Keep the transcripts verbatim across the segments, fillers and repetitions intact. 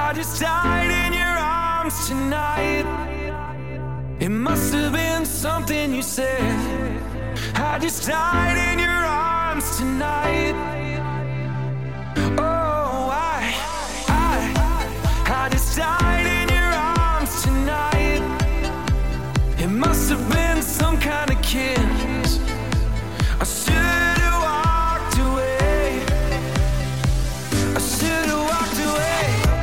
I just died in your arms tonight. It must have been something you said. I just died in your arms tonight. Oh, I, I, I just died in your arms tonight. It must have been some kind of kiss. I should have walked away. I should have walked away.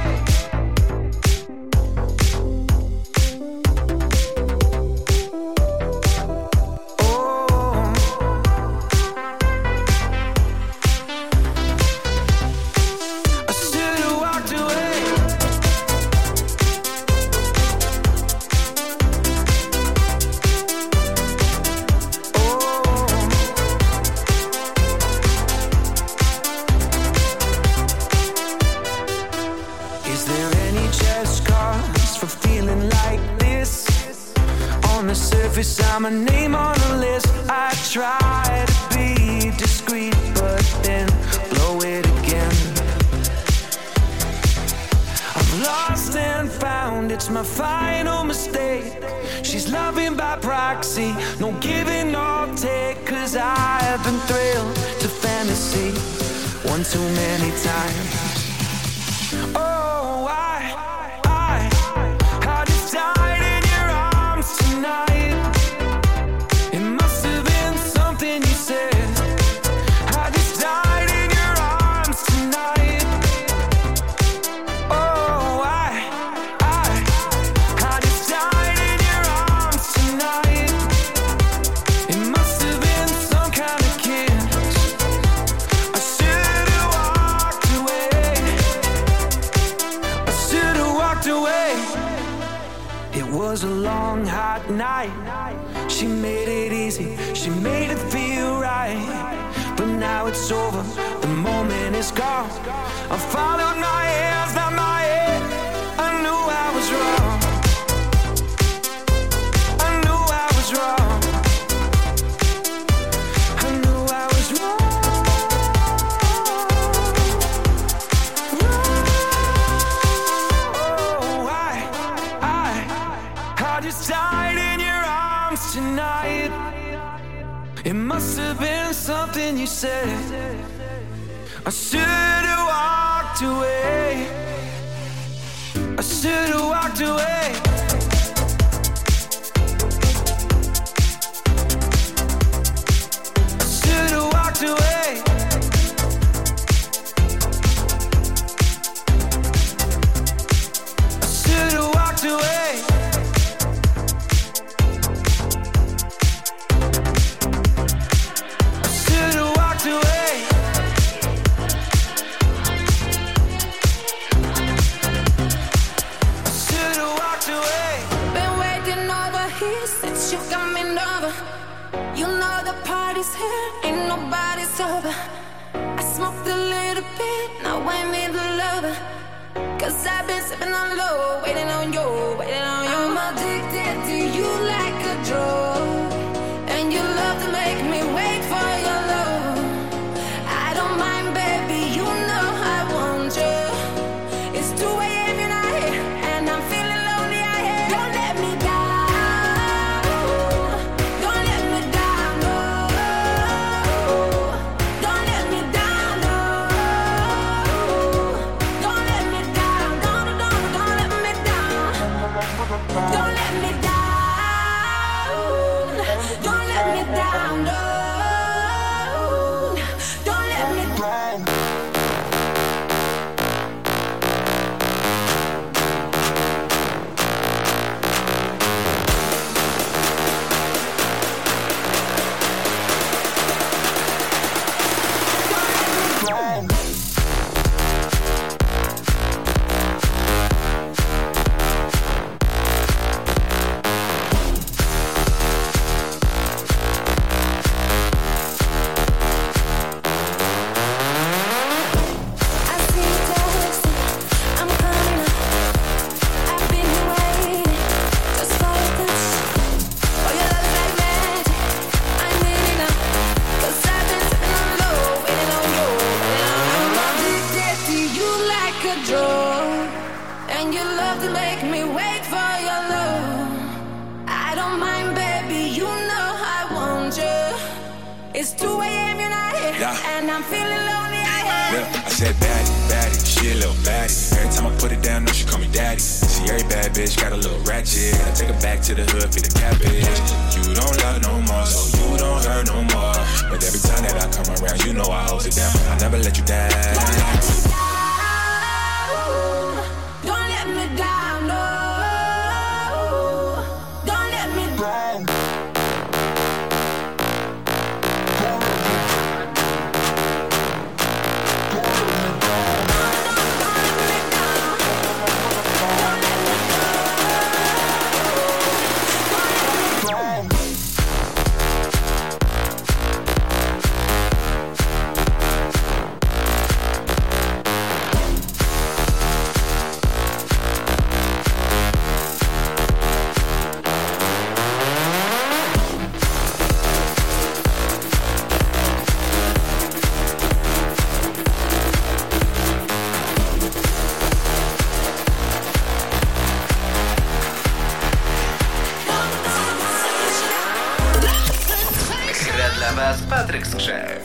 I'm a name on the list. I try to be discreet, but then blow it again. I've lost and found, it's my final mistake. She's loving by proxy, no giving or take. Cause I've been thrilled to fantasy one too many times. Oh, I, I, I just died in your arms tonight. It was a long, hot night. She made it easy, she made it feel right. But now it's over, the moment is gone. I followed my hands, not my head. I knew I was wrong. I knew I was wrong. I knew I was wrong. Oh, I, I I just died in your arms tonight. It must have been something you said. I should have walked away. I should have walked away. I should have walked away. I should have walked away. Ain't nobody sober. I smoked a little bit, now I'm in the lover. Cause I've been sipping on low, waiting on you, waiting on you. I'm addicted to you like a drug, and you love to make me wait for your love. I don't mind, baby, you know I want you. It's two a.m. and I'm here, and I'm feeling lonely out here. Don't let me down, don't let me down, no. Don't let me down, no. Don't let me down, don't, don't, don't let me down. Don't let me down. I am, you're not here. Yeah. And I'm feeling lonely, I am. Yeah, I said baddie, baddie, she a little baddie. Every time I put it down, no, she call me daddy. See, every bad bitch got a little ratchet. I take her back to the hood, feed the cabbage. You don't love no more, so you don't hurt no more. But every time that I come around, you know I hold it down. I never let you down. Don't let me down. Don't let me down, no. Don't let me down. Patryk Skrzek.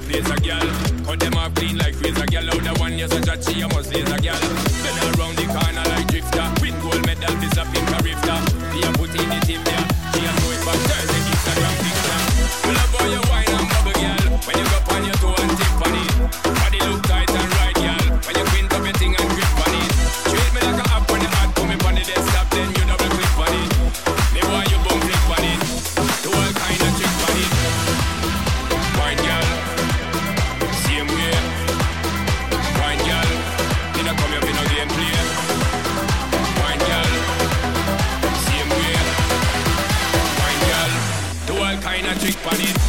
place a girl. Cut them off clean like razor girl. Out the one you're such a chi, you must laser girl. Bend around the corner like drifter. Win gold medal, this a pink rifter. Be a put in the team there. She a throw it back Thursday Instagram picture. We love how you wine and bubble girl. When you go on your toe and tip on it. Body look tight and right girl. When you quint up your thing and grip on it. Treat me like a app on the heart. Put me on the desktop then you double click on it. Me why you bum click on it. Do all kind of trick on it. Wine girl. Same way. Wine girl. You don't come up in no game play. Wine girl. Same way. Wine girl. Do all kind of trick on it.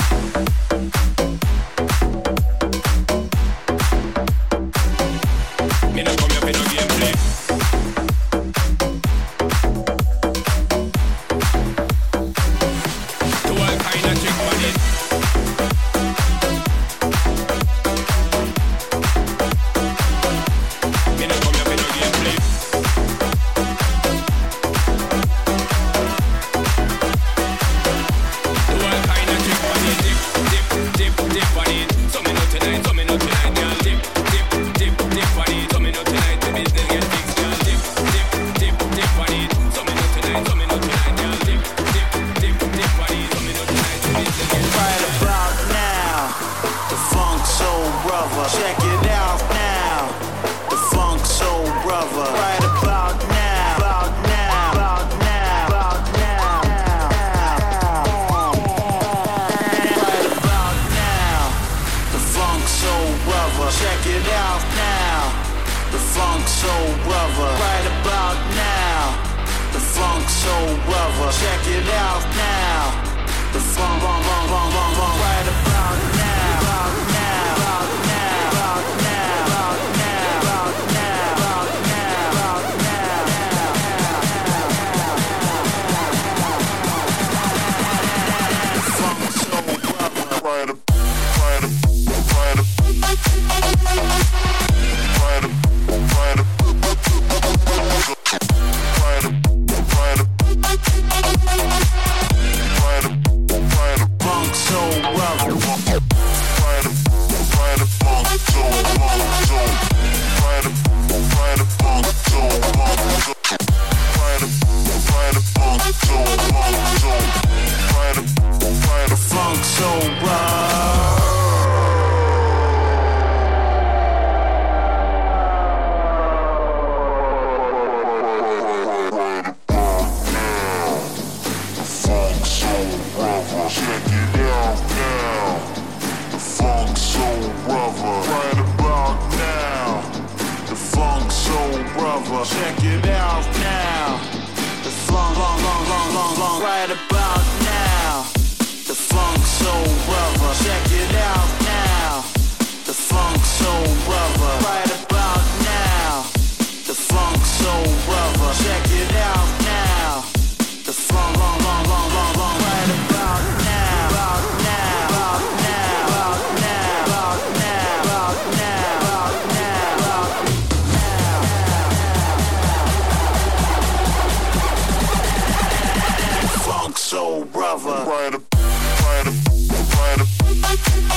Me not come up in no game play. Do all kind of trick on it. Me not come up in no game play. Do all kind of trick on it. Dip, dip, dip, dip on it. So me not tonight, so me not tonight, girl. Dip, dip, dip, dip on it. So me not tonight, the business get fixed, girl. Dip, dip, dip, dip on it. So me not tonight, so me not tonight, girl. Dip, dip, dip, dip on it. So me not tonight, the business get fixed. Right about now, the Funk Soul Brother. Check it out now, the Funk Soul Brother. Right about now, about now, about now, about now. Right about now, the Funk Soul Brother. Check it out now, the Funk Soul Brother. Right about now, the Funk Soul Brother. Check it out now. The funk, funk, funk, funk, funk, funk. Right about now, about now, about now, about now, about now, about now, about now, about now. Funk Soul Brother. Right up, right up, right up, right up, right up, right up, right up. Funk Soul Brother. Right up, right up, funk soul, funk soul. Right up, right up, funk soul, funk soul. Right up, right up, funk soul, funk soul. Right up, right up, funk soul brother. Check it out now, the Funk Soul Brother. Right about now, the Funk Soul Brother. Check it out now, the funk, funk, funk, funk, funk, funk. Right about now, the Funk Soul Brother. Check it out now, the Funk Soul Brother. Right about now, the Funk Soul Brother. Check it out now, the funk, funk, funk, funk, funk, funk. Right about now, about now, about now, about now, about now, about now, about now, about now. Funk Soul Brother. Right up, right up, right up.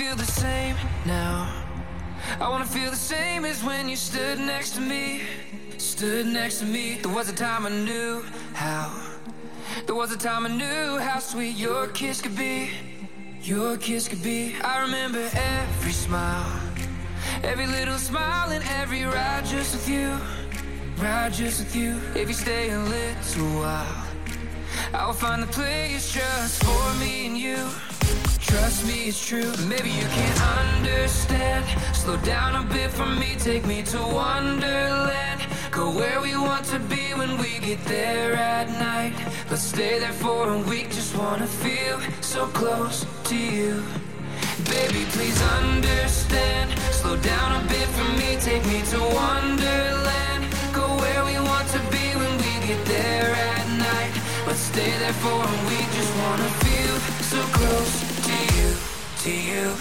feel the same now. I wanna feel the same as when you stood next to me. Stood next to me. There was a time I knew how. There was a time I knew how sweet your kiss could be. Your kiss could be. I remember every smile, every little smile and every ride just with you. Ride just with you. If you stay a little while, I will find the place just for me and you. Trust me, it's true. Maybe you can't understand. Slow down a bit for me, take me to Wonderland. Go where we want to be when we get there at night. Let's stay there for a week, just wanna feel so close to you. Baby, please understand. Slow down a bit for me, take me to Wonderland. Go where we want to be when we get there at night. Let's stay there for a week, just wanna feel so close to you, to you.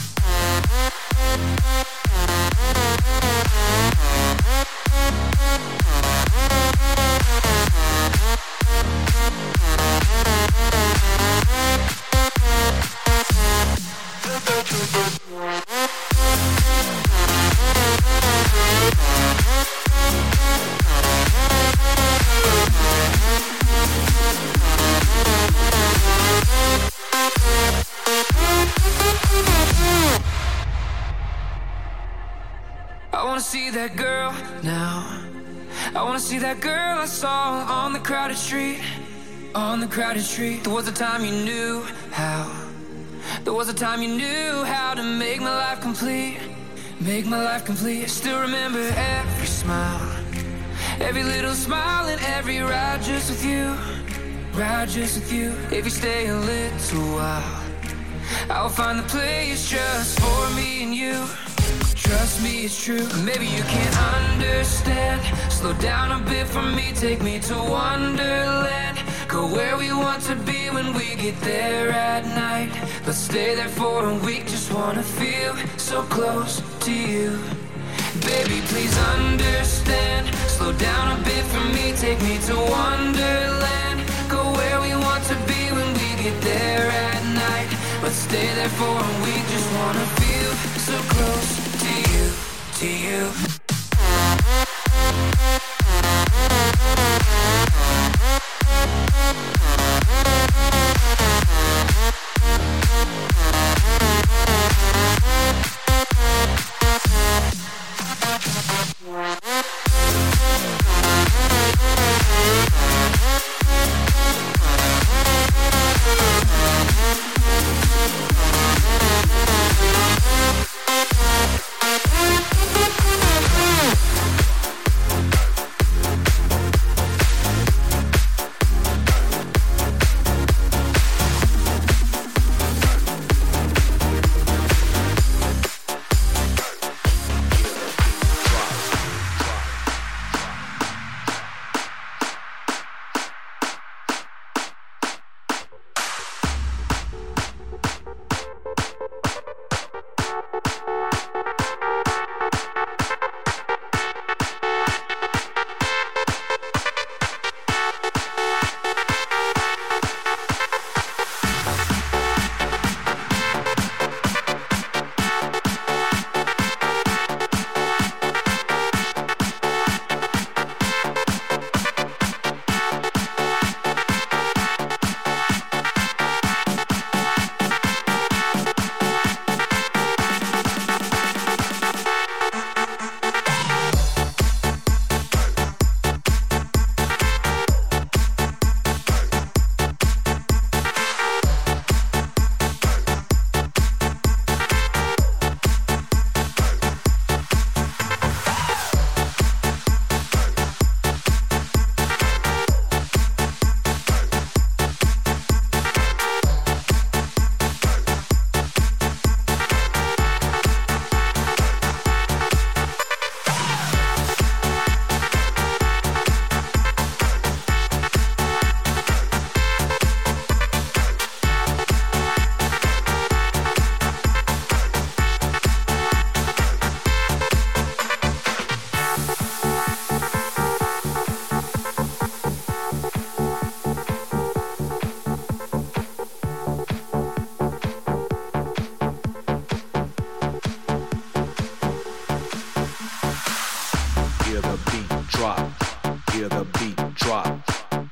I wanna see that girl now. I wanna see that girl I saw on the crowded street. On the crowded street. There was a time you knew how. There was a time you knew how to make my life complete. Make my life complete. I still remember every smile, every little smile and every ride just with you. Ride just with you. If you stay a little while, I'll find the place just for me and you. Trust me, it's true. Maybe you can't understand. Slow down a bit for me, take me to Wonderland. Go where we want to be when we get there at night. Let's stay there for a week, just wanna feel so close to you. Baby, please understand. Slow down a bit for me, take me to Wonderland. Go where we want to be when we get there at night. Let's stay there for a week, just wanna feel so close to you, to you.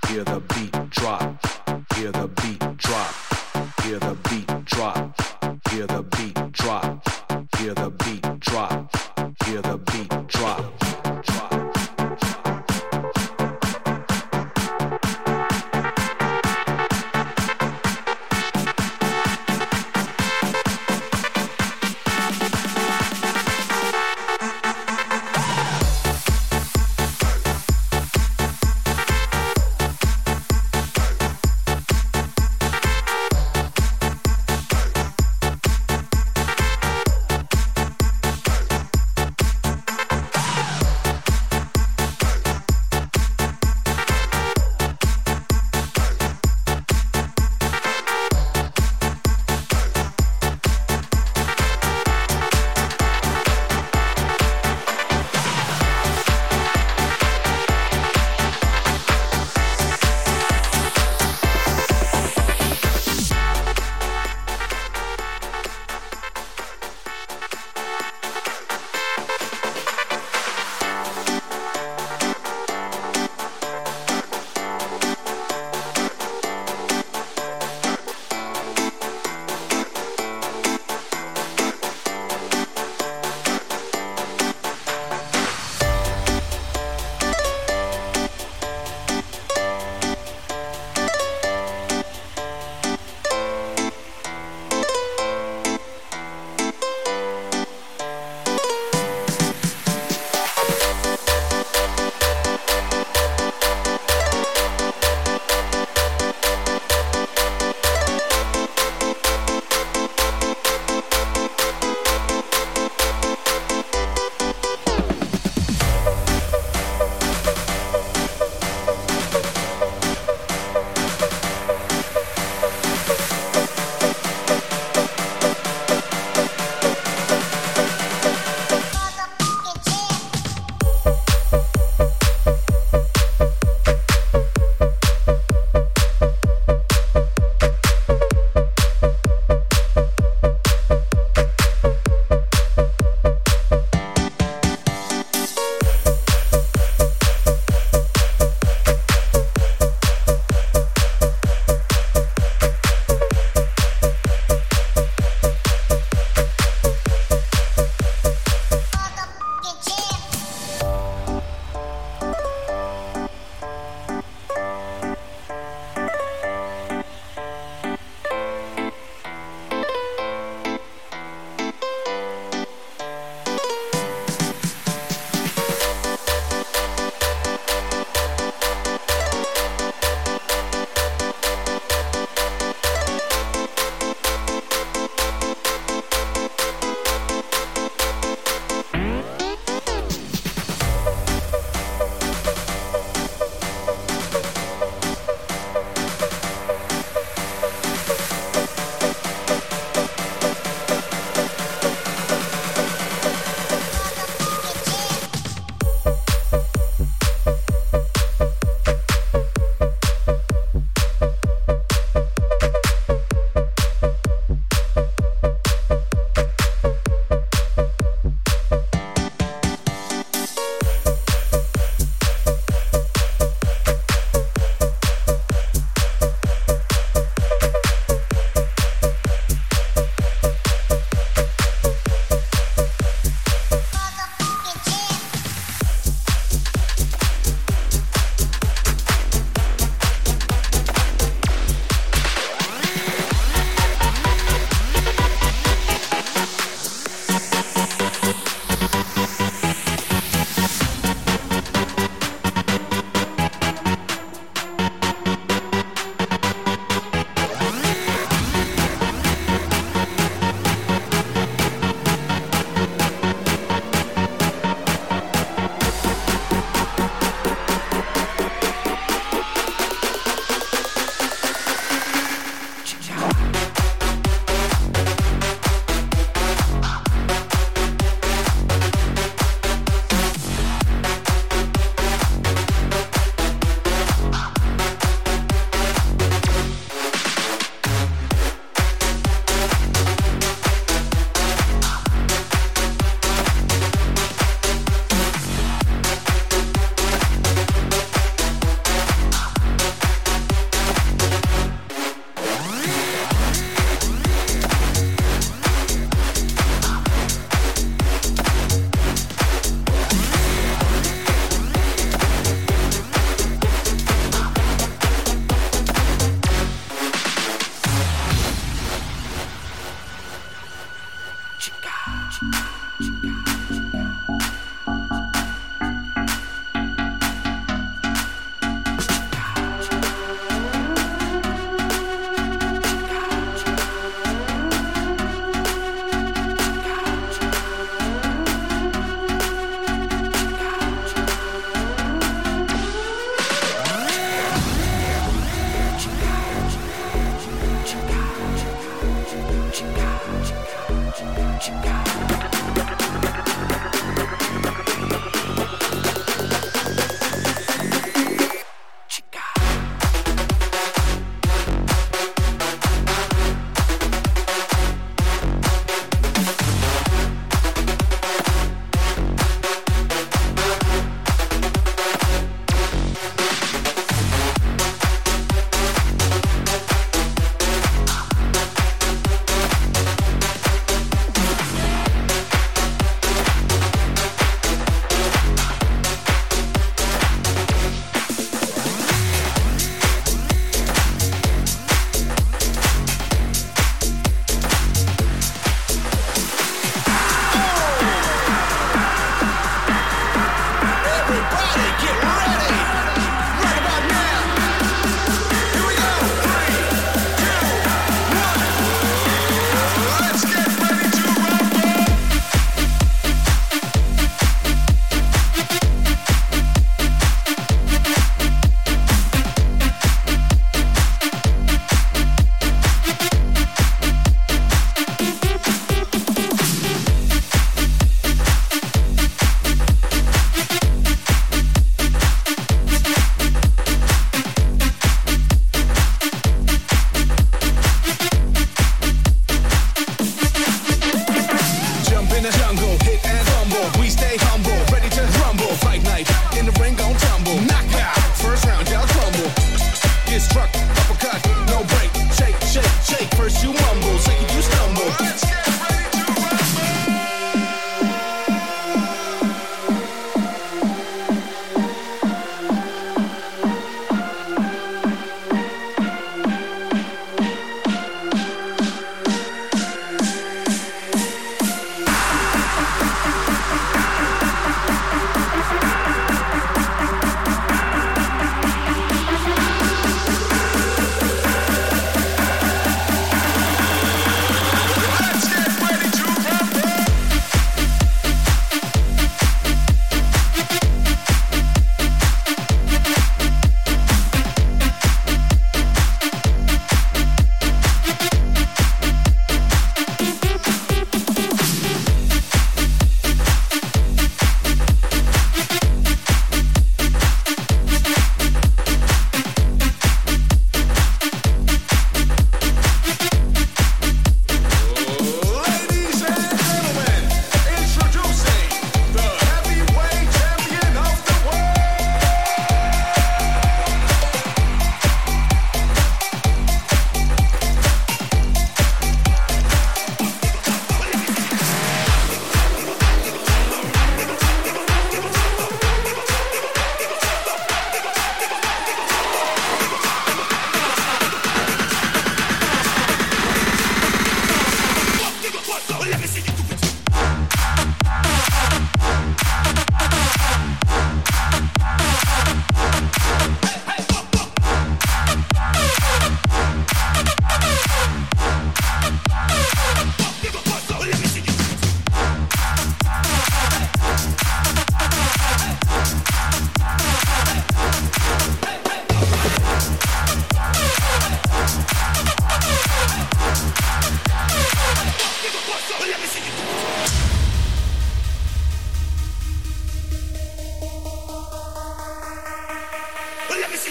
hear the beat drop, hear the beat drop, hear the beat drop, hear the beat drop, hear the beat drop, hear the beat drop.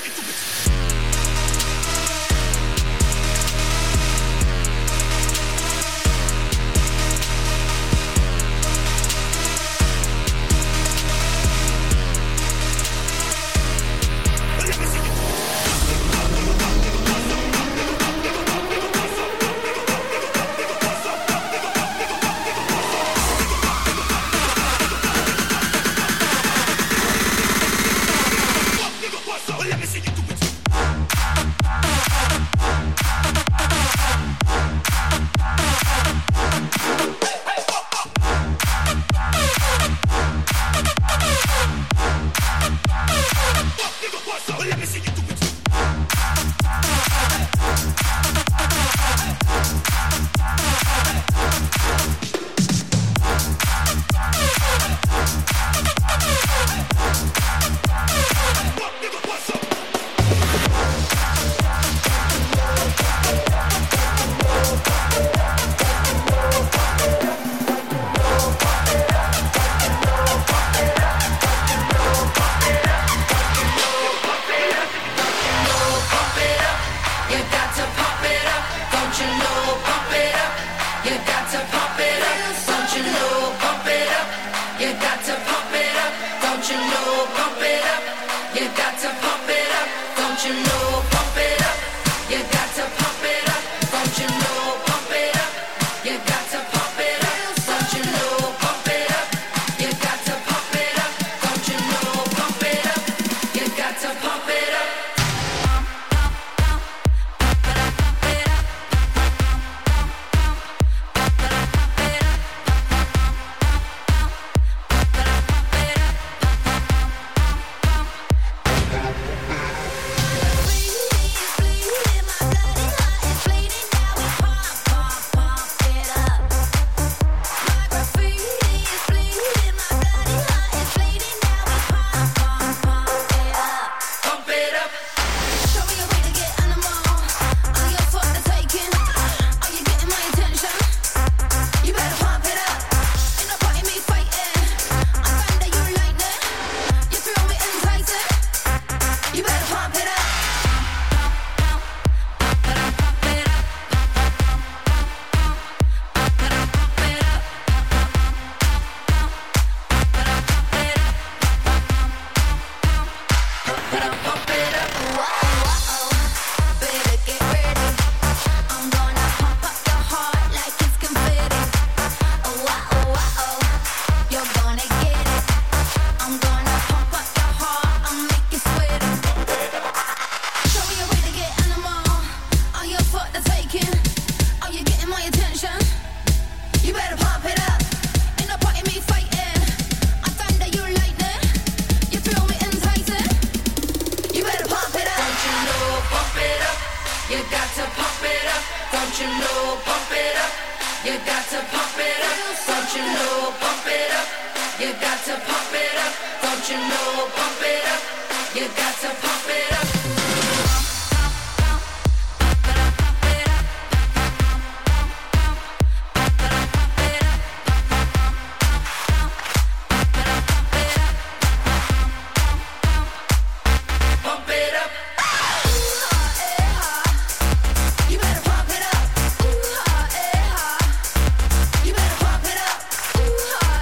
Ooh,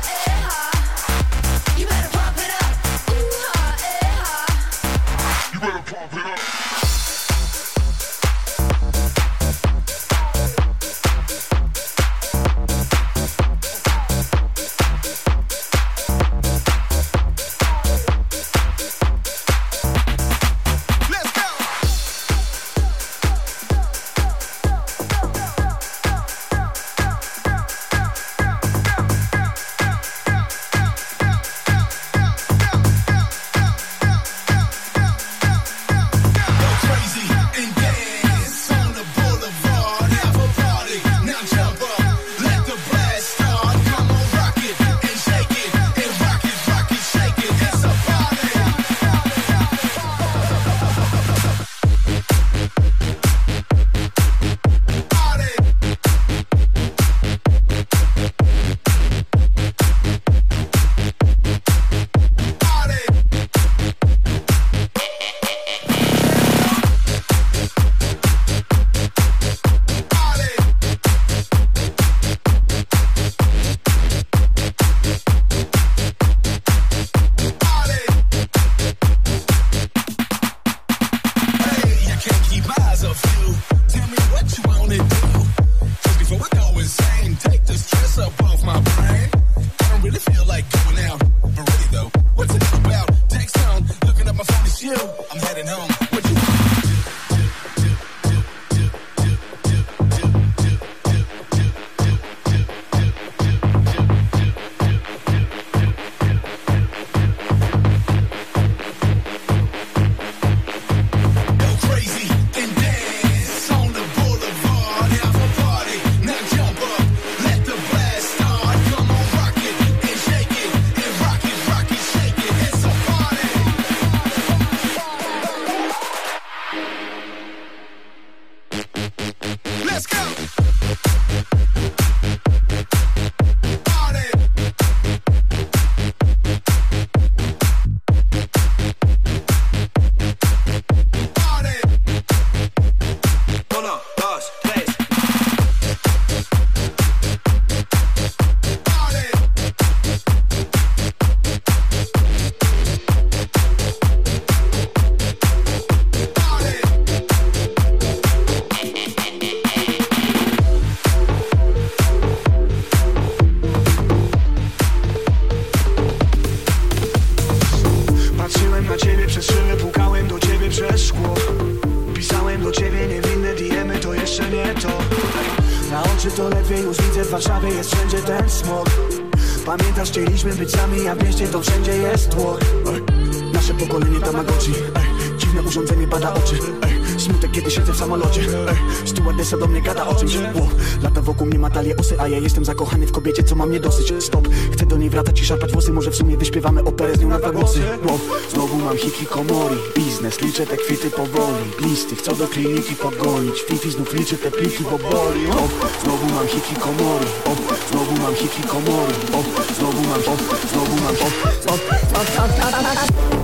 Pamiętasz, chcieliśmy być sami, a w mieście to wszędzie jest tłok. Nasze pokolenie Tamagotchi, ej, dziwne urządzenie bada oczy, ej, smutek kiedy siedzę w samolocie, ej, stewardessa do mnie gada o czymś, wow. Lata wokół mnie ma talie osy, a ja jestem zakochany w kobiecie, co ma mnie dosyć. Stop, chcę do niej wracać i szarpać włosy, może w sumie wyśpiewamy operę z nią na dwa głosy, wow. Znowu mam hikikomori, biznes, liczę te kwity powoli, listy, chcą do kliniki pogonić, Fifi znów liczy te pliki, bo boli, wow. Znowu mam hikikomori, oh. Znowu mam hikikomori, oh. Znowu mam, oh. Znowu mam, oh. Oh. Oh. Oh. Oh. Oh.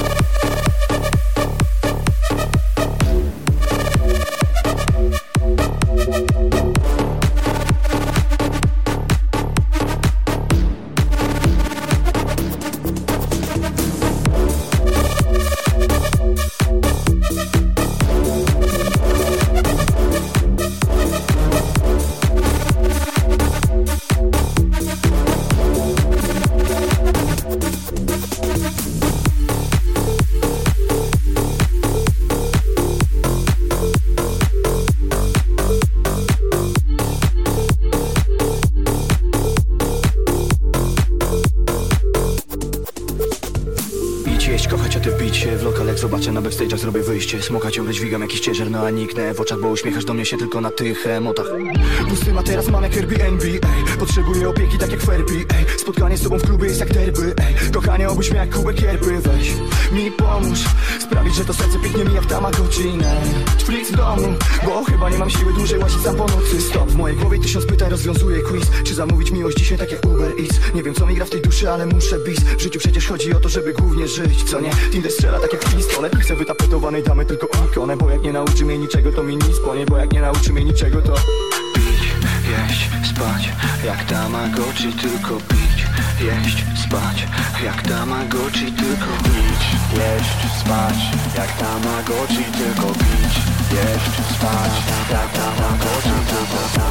Zobaczę na backstage'ach, zrobię wyjście. Smoka ciągle dźwigam jakiś ciężar, no a niknę w oczach, bo uśmiechasz do mnie się tylko na tych emotach. Pusty ma teraz mam jak Airbnb, ej. Potrzebuję opieki tak jak Ferbi, ej. Spotkanie z tobą w klubie jest jak derby, ej. Kochanie, obudź mnie jak kubek yerby. Weź mi pomóż sprawić, że to serce pięknie mi jak Tamagotchi. Netflix w domu, bo chyba nie mam siły dłużej łazić sam po nocy. Stop, w mojej głowie tysiąc pytań, rozwiązuję quiz. Czy zamówić miłość dzisiaj tak jak Uber Eats? Nie wiem co mi gra w tej duszy, ale muszę bis. W życiu przecież chodzi o to, żeby głównie żyć, co nie? Tinder strzela tak jak pistolet. Chcę wytapetowanej damy tylko ikonę, bo jak nie nauczy mnie niczego, to mi nic ponie. Bo jak nie nauczy mnie niczego, to pić, jeść, spać, jak Tamagotchi, tylko pić, jeść, spać, jak Tamagotchi, tylko pić, jeść, spać, jak Tamagotchi, tylko pić, jeść, spać, jak Tamagotchi, tylko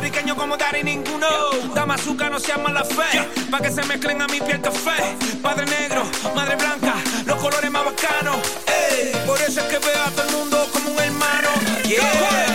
puertorriqueño como Daddy ninguno. Dame azúcar, no seas mala fe, pa' que se mezclen a mi piel café. Padre negro, madre blanca, los colores más bacanos. Ey, por eso es que veo a todo el mundo como un hermano. Yeah.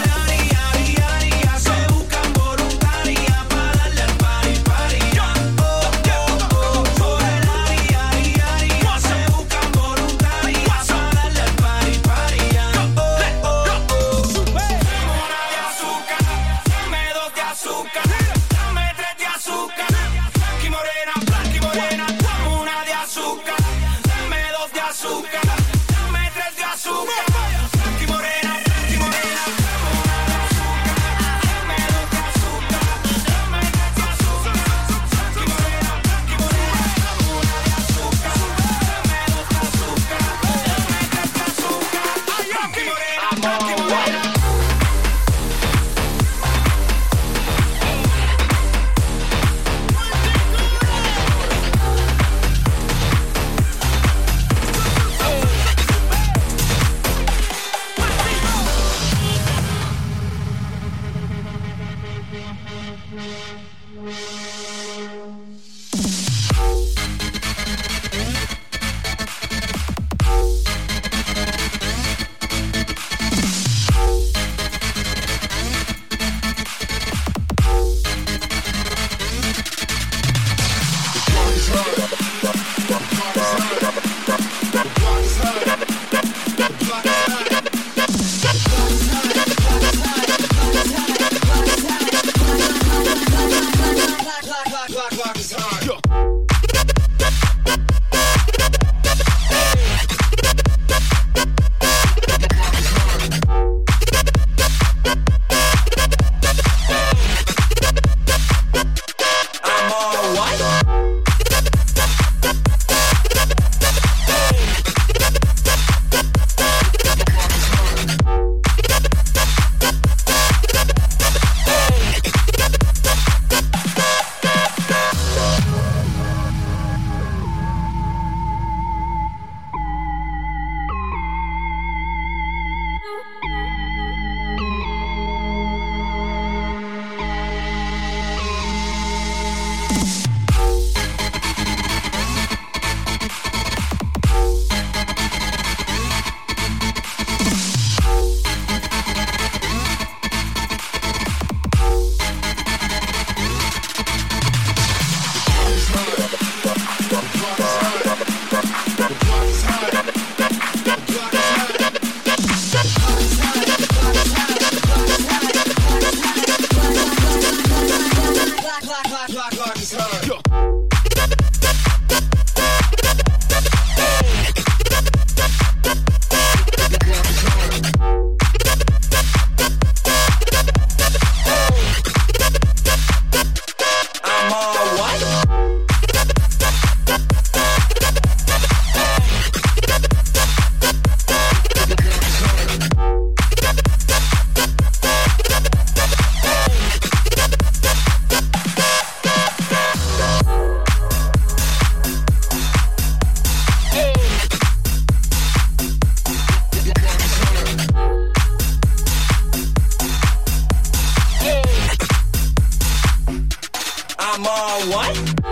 I'm all what?